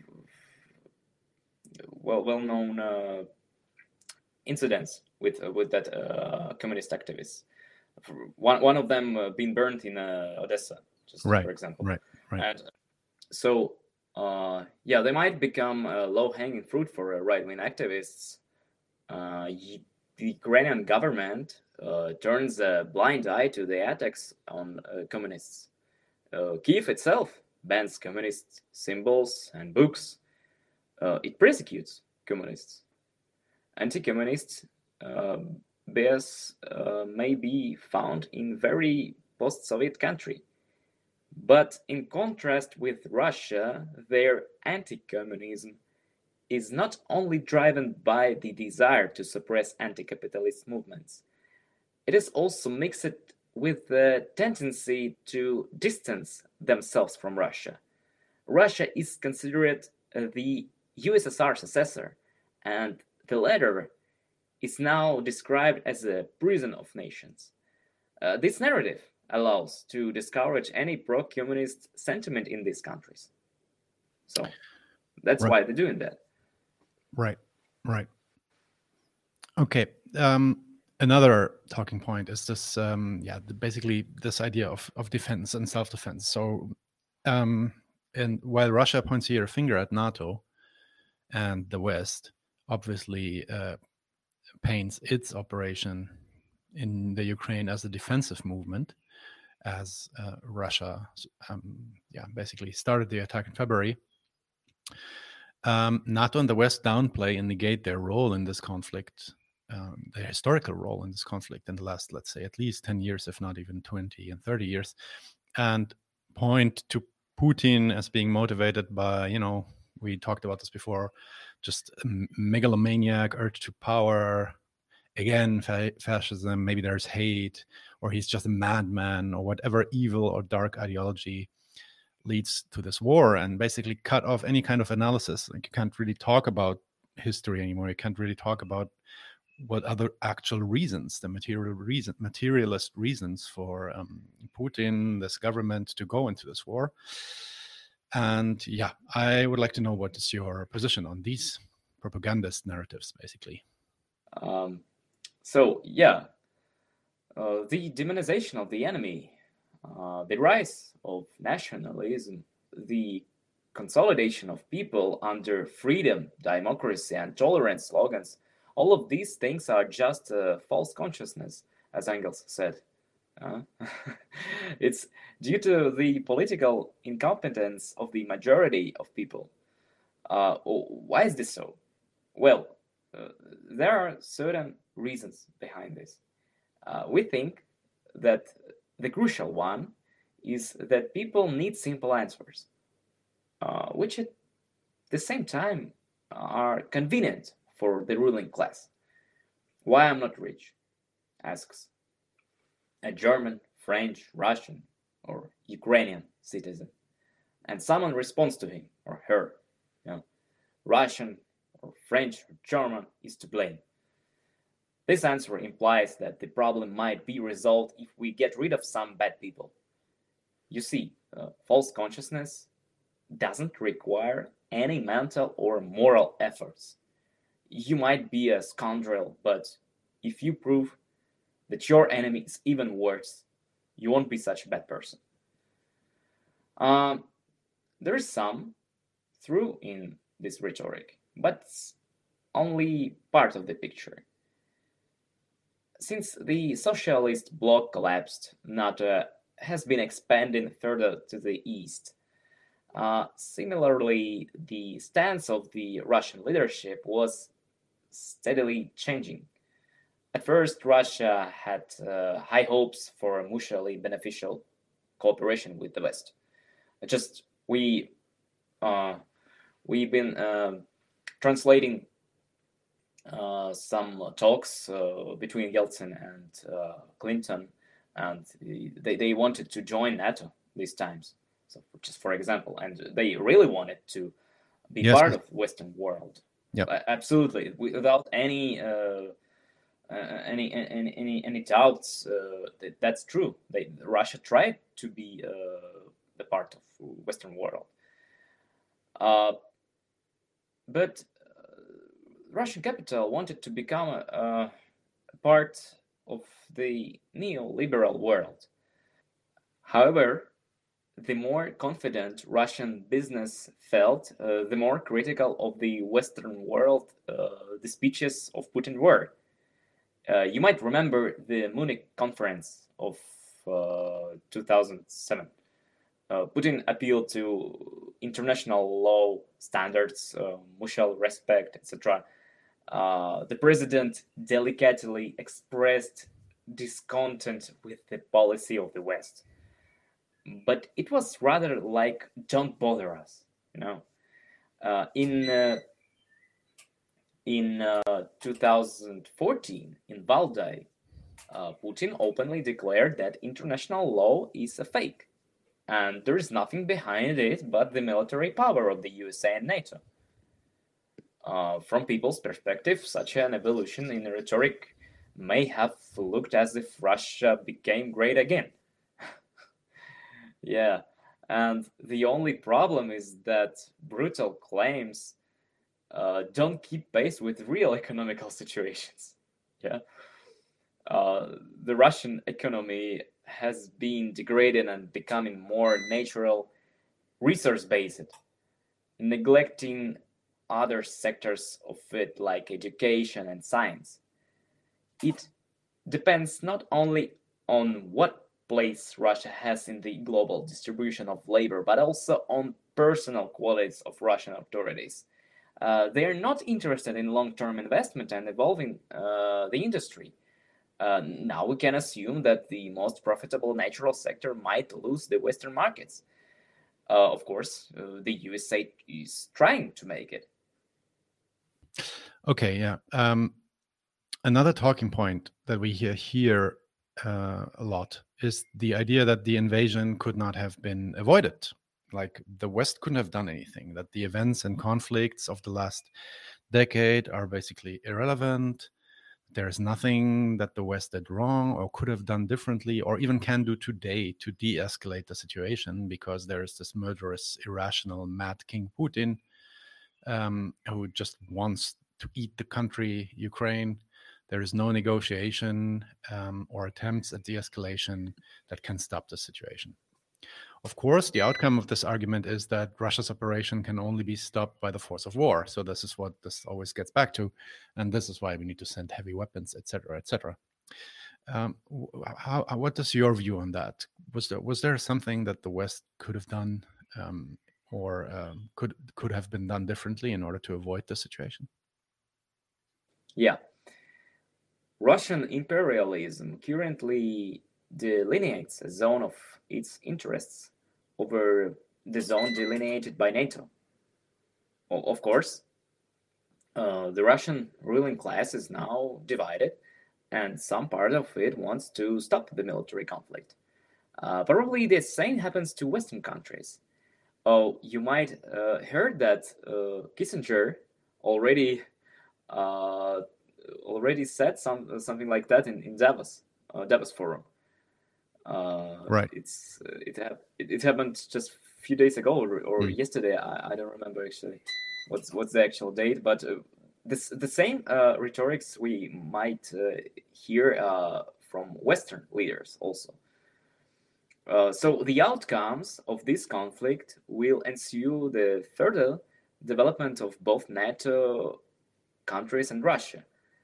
well well-known uh, incidents with uh, with that uh, communist activists. One one of them uh, being burned in uh, Odessa, just Right, for example. right, right. And so, uh, yeah, they might become uh, low-hanging fruit for uh, right-wing activists. Uh, y- the Ukrainian government uh, turns a blind eye to the attacks on uh, communists. Uh, Kiev itself bans communist symbols and books. Uh, it persecutes communists. Anti-communist uh, bias uh, may be found in very post-Soviet country. But in contrast with Russia, their anti-communism is not only driven by the desire to suppress anti-capitalist movements, it is also mixed with the tendency to distance themselves from Russia. Russia is considered uh, the U S S R successor, and the latter is now described as a prison of nations. Uh, this narrative allows to discourage any pro-communist sentiment in these countries. So that's Right. why they're doing that. Right, right. Okay. Um, another talking point is this, um, yeah, the, basically this idea of, of defense and self-defense. So, um, and while Russia points here a finger at NATO and the West, obviously uh, paints its operation in the Ukraine as a defensive movement, as uh, Russia, um, yeah, basically started the attack in February. Um, NATO and the West downplay and negate their role in this conflict, um, their historical role in this conflict in the last, let's say, at least ten years, if not even twenty and thirty years, and point to Putin as being motivated by, you know, we talked about this before, just a megalomaniac urge to power, again, fa- fascism, maybe there's hate, or he's just a madman, or whatever evil or dark ideology leads to this war, and basically cut off any kind of analysis. Like, you can't really talk about history anymore. You can't really talk about what other actual reasons, the material reason, materialist reasons for um, Putin, this government, to go into this war. And yeah, I would like to know what is your position on these propagandist narratives, basically. Um, so yeah, uh, the demonization of the enemy, uh, the rise of nationalism, the consolidation of people under freedom, democracy, and tolerance slogans, all of these things are just a false consciousness, as Engels said. Uh, it's due to the political incompetence of the majority of people. Uh, why is this so? Well, uh, there are certain reasons behind this. Uh, we think that the crucial one is that people need simple answers, uh, which at the same time are convenient for the ruling class. Why I'm not rich? Asks a German, French, Russian, or Ukrainian citizen. And someone responds to him or her. You know, Russian or French or German is to blame. This answer implies that the problem might be resolved if we get rid of some bad people. You see, uh, false consciousness doesn't require any mental or moral efforts. You might be a scoundrel, but if you prove that your enemy is even worse, you won't be such a bad person. Um, there is some truth in this rhetoric, but it's only part of the picture. Since the socialist bloc collapsed, NATO has been expanding further to the east. Uh, similarly, the stance of the Russian leadership was steadily changing. At first, Russia had uh, high hopes for a mutually beneficial cooperation with the West. Just we uh, we've been uh, translating uh, some talks uh, between Yeltsin and uh, Clinton, and they, they wanted to join NATO these times. So, just for example, and they really wanted to be Yes. part of Western world. Yep. Absolutely, without any uh, uh, any, any any any doubts. Uh, that, that's true. They Russia tried to be uh, the part of Western world, uh, but Russian capital wanted to become a, a part of the neoliberal world. However, the more confident Russian business felt, uh, the more critical of the Western world uh, the speeches of Putin were. Uh, you might remember the Munich conference of uh, two thousand seven. Uh, Putin appealed to international law standards, uh, mutual respect, et cetera. Uh, the president delicately expressed discontent with the policy of the West. But it was rather like, don't bother us, you know. Uh, in uh, in uh, two thousand fourteen, in Valdai, uh, Putin openly declared that international law is a fake, and there is nothing behind it but the military power of the U S A and NATO. Uh, from people's perspective, such an evolution in rhetoric may have looked as if Russia became great again. Yeah, and the only problem is that brutal claims uh, don't keep pace with real economical situations. Yeah, uh, the Russian economy has been degraded and becoming more natural, resource-based, neglecting other sectors of it like education and science. It depends not only on what place Russia has in the global distribution of labor, but also on personal qualities of Russian authorities. Uh, they are not interested in long-term investment and evolving uh, the industry. Uh, now we can assume that the most profitable natural sector might lose the Western markets. Uh, of course, uh, the U S A is trying to make it. Okay, yeah. Um, another talking point that we hear here uh, a lot is the idea that the invasion could not have been avoided. Like the West couldn't have done anything, that the events and conflicts of the last decade are basically irrelevant. There is nothing that the West did wrong or could have done differently or even can do today to de-escalate the situation, because there is this murderous, irrational, mad King Putin um, who just wants to eat the country, Ukraine. There is no negotiation um, or attempts at de-escalation that can stop the situation. Of course, the outcome of this argument is that Russia's operation can only be stopped by the force of war. So this is what this always gets back to, and this is why we need to send heavy weapons, et cetera, et cetera. Um, how, what is your view on that? Was there was there something that the West could have done, um, or um, could could have been done differently in order to avoid the situation? Yeah, Russian imperialism currently delineates a zone of its interests over the zone delineated by NATO. Well, of course, uh, the Russian ruling class is now divided, and some part of it wants to stop the military conflict. Uh, probably the same happens to Western countries. Oh, you might uh, heard that uh, Kissinger already uh, already said some something like that in in Davos uh, Davos Forum. Uh, right. It's uh, it, ha- it it happened just a few days ago or, or Mm. yesterday. I, I don't remember actually what's what's the actual date, but uh, this the same uh, rhetorics we might uh, hear uh, from Western leaders also. Uh, so the outcomes of this conflict will ensue the further development of both NATO countries and Russia.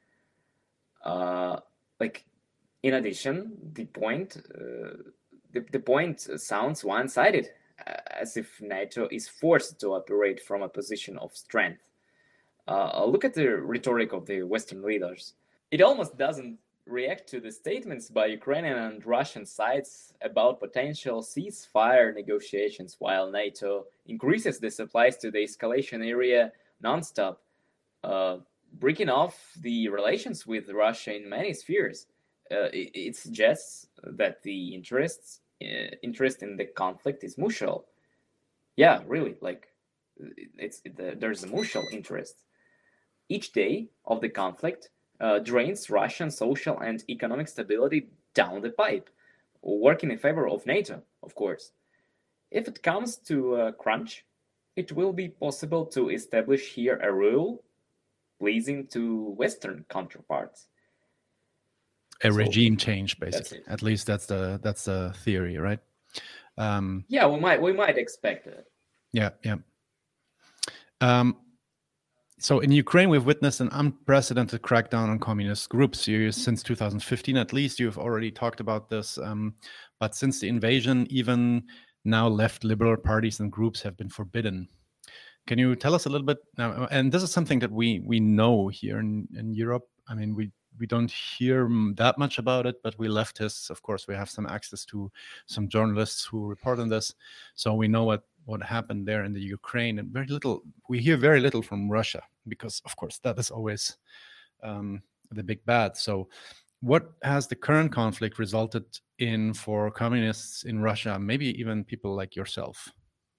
Uh, like, in addition, the point uh, the, the point sounds one-sided, as if NATO is forced to operate from a position of strength. Uh, look at the rhetoric of the Western leaders. It almost doesn't react to the statements by Ukrainian and Russian sides about potential ceasefire negotiations, while NATO increases the supplies to the escalation area nonstop, uh, breaking off the relations with Russia in many spheres. Uh, it, it suggests that the interests uh, interest in the conflict is mutual. Yeah, really, like it's it, there's a mutual interest. Each day of the conflict uh, drains Russian social and economic stability down the pipe, working in favor of NATO, of course. If it comes to a crunch, it will be possible to establish here a rule pleasing to Western counterparts. A So, regime change, basically. it. At least that's the that's the theory, right? Um, yeah, we might we might expect it. Yeah, yeah. Um, so in Ukraine, we've witnessed an unprecedented crackdown on communist groups. You, since two thousand fifteen, at least, you've already talked about this. Um, but since the invasion, even now, left liberal parties and groups have been forbidden. Can you tell us a little bit now? And this is something that we we know here in, in Europe. I mean, we we don't hear that much about it, but we leftists, of course, we have some access to some journalists who report on this, so we know what what happened there in the Ukraine, and very little. We hear very little from Russia because, of course, that is always um, the big bad. So, what has the current conflict resulted in for communists in Russia? Maybe even people like yourself.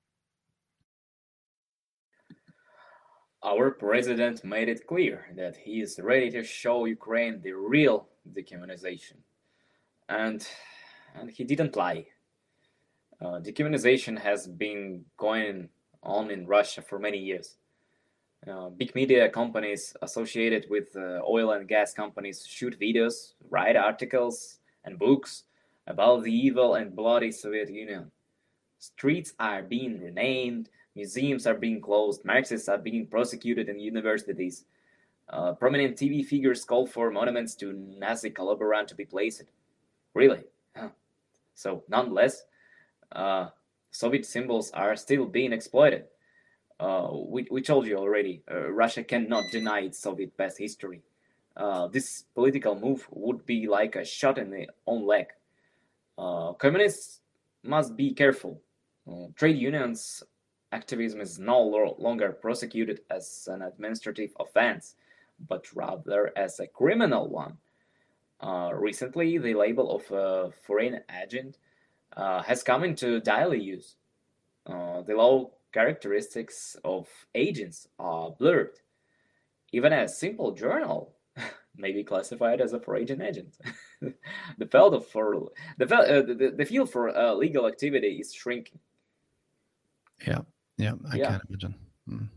Our president made it clear that he is ready to show Ukraine the real decommunization. And, and he didn't lie. Uh, decommunization has been going on in Russia for many years. Uh, big media companies associated with uh, oil and gas companies shoot videos, write articles and books about the evil and bloody Soviet Union. Streets are being renamed, museums are being closed, Marxists are being prosecuted in universities. Uh, prominent T V figures call for monuments to Nazi collaborant to be placed. Really? Huh. So, nonetheless, uh, Soviet symbols are still being exploited. Uh, we, we told you already, uh, Russia cannot deny its Soviet past history. Uh, this political move would be like a shot in the own leg. Uh, communists must be careful. Uh, trade unions activism is no longer prosecuted as an administrative offense, but rather as a criminal one. Uh, recently, the label of a foreign agent uh, has come into daily use. Uh, the law characteristics of agents are blurred. Even a simple journal may be classified as a foreign agent. the field of for the uh, the, the field for uh, legal activity is shrinking. Yeah, yeah, I Yeah. can't imagine. Mm.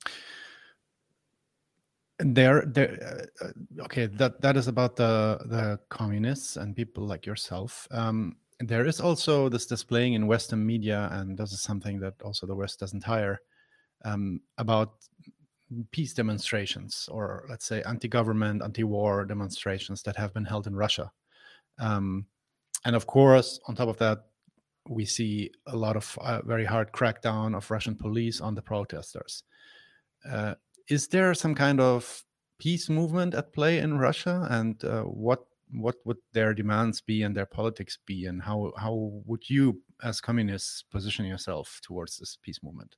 There, there. Uh, okay, that that is about the the communists and people like yourself. Um, there is also this displaying in Western media, and this is something that also the West doesn't hire, um, about peace demonstrations, or let's say anti-government, anti-war demonstrations that have been held in Russia. Um, and of course, on top of that, we see a lot of uh, very hard crackdown of Russian police on the protesters. Uh, is there some kind of peace movement at play in Russia, and uh, what what would their demands be and their politics be, and how how would you, as communists, position yourself towards this peace movement?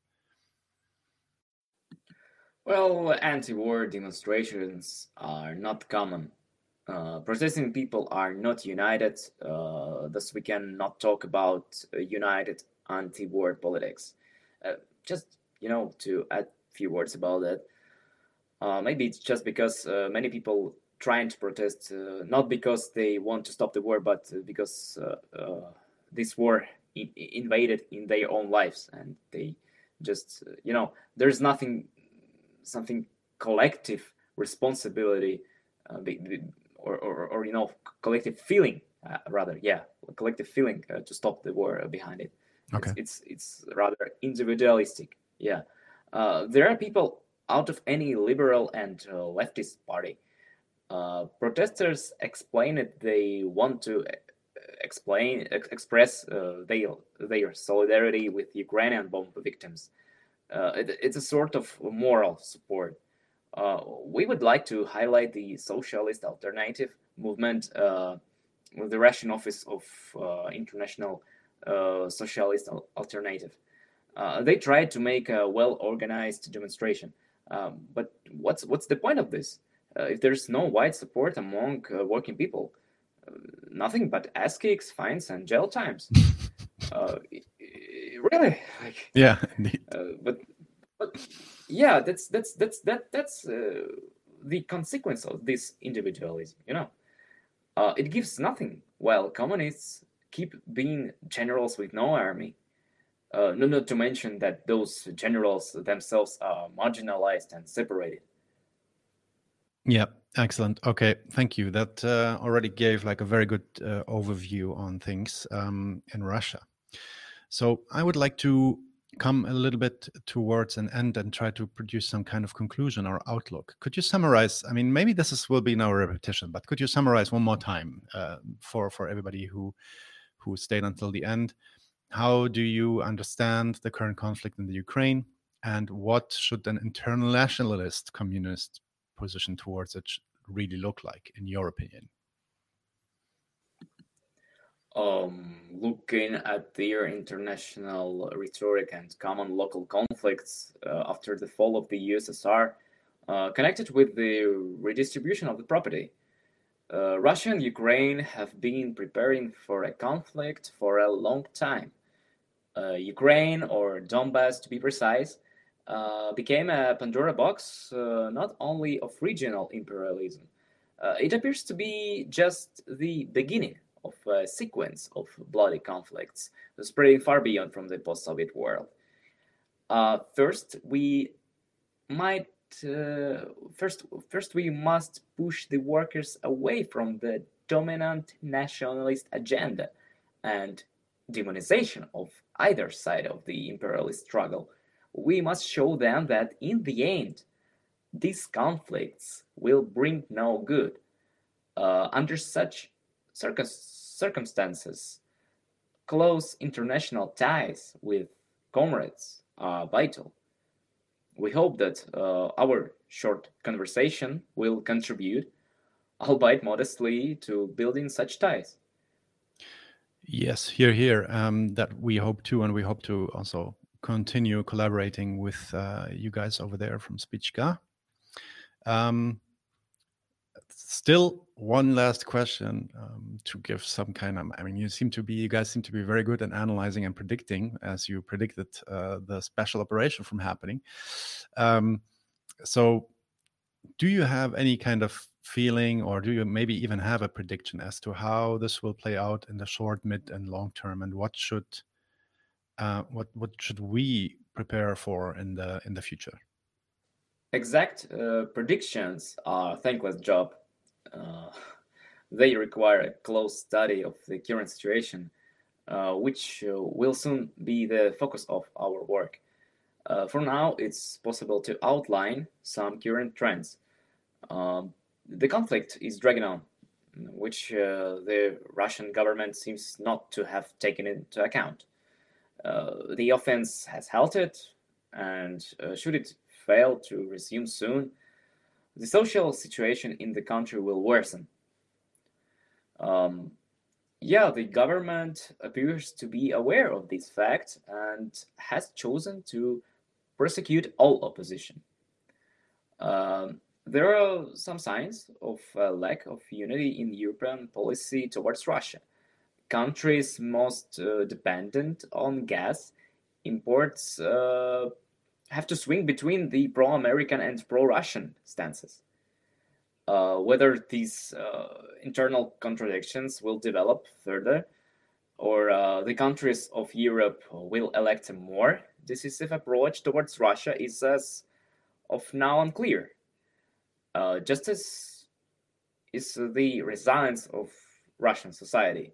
Well, anti-war demonstrations are not common. Uh, protesting people are not united, uh, thus we cannot talk about uh, united anti-war politics. Uh, just, you know, to add a few words about that, uh, maybe it's just because uh, many people trying to protest, uh, not because they want to stop the war, but uh, because uh, uh, this war I- invaded in their own lives, and they just, uh, you know, there's nothing, something collective responsibility, uh, be, be, or, or, or, you know, collective feeling, uh, rather, yeah, collective feeling uh, to stop the war behind it. Okay. It's, it's, it's rather individualistic, yeah. Uh, there are people out of any liberal and uh, leftist party. Uh, protesters explain it. They want to explain, ex- express uh, their, their solidarity with Ukrainian bomb victims. Uh, it, it's a sort of moral support. Uh, we would like to highlight the socialist alternative movement uh, with the Russian Office of uh, International uh, Socialist Alternative. Uh, they tried to make a well-organized demonstration, um, but what's what's the point of this? Uh, if there's no wide support among uh, working people, uh, nothing but ass kicks, fines, and jail times. uh, really, like, yeah, indeed. Uh, but but yeah, that's that's that's that that's uh, the consequence of this individualism. You know, uh, it gives nothing, while communists keep being generals with no army. Uh, no, not to mention that those generals themselves are marginalized and separated. Yeah, excellent. Okay, thank you. That uh, already gave like a very good uh, overview on things um, in Russia. So I would like to come a little bit towards an end and try to produce some kind of conclusion or outlook. Could you summarize? I mean, maybe this is, will be now a repetition, but could you summarize one more time uh, for for everybody who who stayed until the end? How do you understand the current conflict in the Ukraine, and what should an internationalist communist position towards it really look like, in your opinion? Um, looking at their international rhetoric and common local conflicts uh, after the fall of the U S S R, uh, connected with the redistribution of the property, uh, Russia and Ukraine have been preparing for a conflict for a long time. Uh, Ukraine, or Donbass to be precise, uh, became a Pandora box uh, not only of regional imperialism. Uh, it appears to be just the beginning of a sequence of bloody conflicts spreading far beyond from the post-Soviet world. Uh, first, we might uh, first first we must push the workers away from the dominant nationalist agenda and demonization of either side of the imperialist struggle. We must show them that in the end, these conflicts will bring no good. Uh, under such circum- circumstances, close international ties with comrades are vital. We hope that uh, our short conversation will contribute, albeit modestly, to building such ties. Yes, here, here. Um, that we hope to, and we hope to also continue collaborating with uh, you guys over there from Spichka. Um, still, one last question um, to give some kind of. I mean, you seem to be, you guys seem to be very good at analyzing and predicting, as you predicted uh, the special operation from happening. Um, so, do you have any kind of feeling, or do you maybe even have a prediction as to how this will play out in the short, mid, and long term, and what should uh, what what should we prepare for in the in the future? Exact uh, predictions are a thankless job. Uh, they require a close study of the current situation, uh, which uh, will soon be the focus of our work. Uh, for now, it's possible to outline some current trends. Um, the conflict is dragging on, which uh, the Russian government seems not to have taken into account. Uh, the offense has halted, and uh, should it fail to resume soon, the social situation in the country will worsen. Um, yeah, the government appears to be aware of this fact and has chosen to prosecute all opposition. Um, there are some signs of a lack of unity in European policy towards Russia. Countries most uh, dependent on gas imports uh, have to swing between the pro-American and pro-Russian stances. Uh, whether these uh, internal contradictions will develop further, or uh, the countries of Europe will elect a more decisive approach towards Russia, is as of now unclear. Uh, just as is the resilience of Russian society.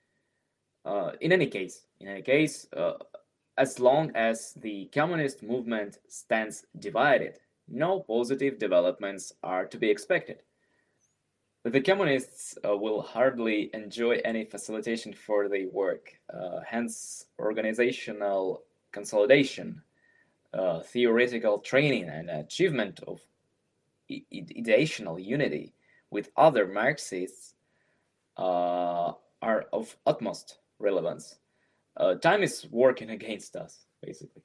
Uh, in any case, in any case, uh, as long as the communist movement stands divided, no positive developments are to be expected. The communists uh, will hardly enjoy any facilitation for their work, uh, hence organizational consolidation, uh, theoretical training, and achievement of ideational unity with other Marxists uh, are of utmost relevance. Uh, time is working against us, basically.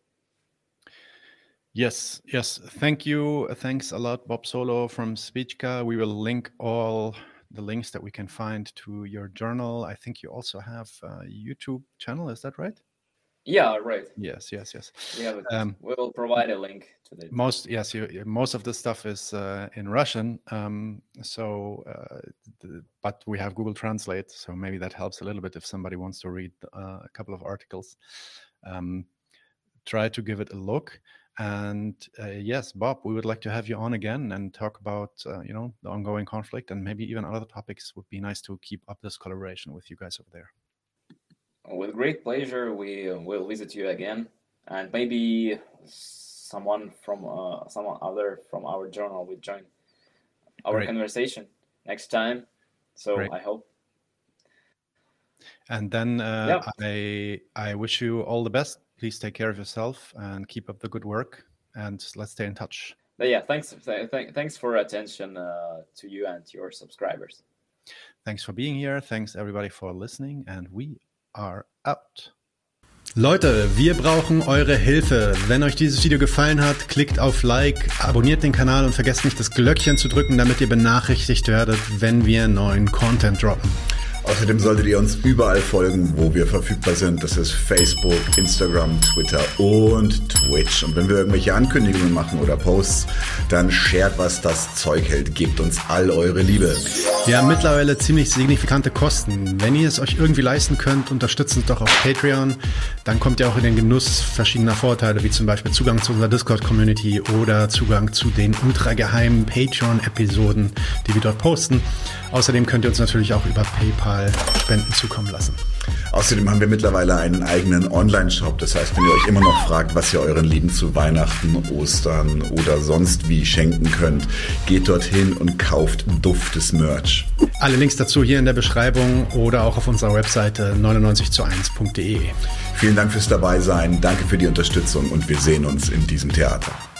Yes, yes. Thank you. Thanks a lot, Bob Solow from Spička. We will link all the links that we can find to your journal. I think you also have a YouTube channel. Is that right? Yeah, right. Yes, yes, yes. Yeah, but um, we will provide a link to the most. Yes, you, most of the stuff is uh, in Russian. Um, so, uh, the, but we have Google Translate, so maybe that helps a little bit if somebody wants to read uh, a couple of articles. Um, try to give it a look. And uh, yes, Bob, we would like to have you on again and talk about uh, you know the ongoing conflict and maybe even other topics. Would be nice to keep up this collaboration with you guys over there. With great pleasure, we will visit you again, and maybe someone from uh, someone other from our journal will join our Great. conversation next time. So Great. I hope. And then uh, yeah. I I wish you all the best. Please take care of yourself and keep up the good work. And let's stay in touch. But yeah, thanks. Th- th- thanks for attention uh, to you and your subscribers. Thanks for being here. Thanks everybody for listening, and we are out. Leute, wir brauchen eure Hilfe. Wenn euch dieses Video gefallen hat, klickt auf Like, abonniert den Kanal und vergesst nicht das Glöckchen zu drücken, damit ihr benachrichtigt werdet, wenn wir neuen Content droppen. Außerdem solltet ihr uns überall folgen, wo wir verfügbar sind. Das ist Facebook, Instagram, Twitter und Twitch. Und wenn wir irgendwelche Ankündigungen machen oder Posts, dann shared, was das Zeug hält. Gebt uns all eure Liebe. Wir haben mittlerweile ziemlich signifikante Kosten. Wenn ihr es euch irgendwie leisten könnt, unterstützt uns doch auf Patreon. Dann kommt ihr auch in den Genuss verschiedener Vorteile, wie zum Beispiel Zugang zu unserer Discord-Community oder Zugang zu den ultrageheimen Patreon-Episoden, die wir dort posten. Außerdem könnt ihr uns natürlich auch über PayPal Spenden zukommen lassen. Außerdem haben wir mittlerweile einen eigenen Online-Shop. Das heißt, wenn ihr euch immer noch fragt, was ihr euren Lieben zu Weihnachten, Ostern oder sonst wie schenken könnt, geht dorthin und kauft duftes Merch. Alle Links dazu hier in der Beschreibung oder auch auf unserer Webseite neunundneunzig zu eins punkt de. Vielen Dank fürs Dabeisein, danke für die Unterstützung und wir sehen uns in diesem Theater.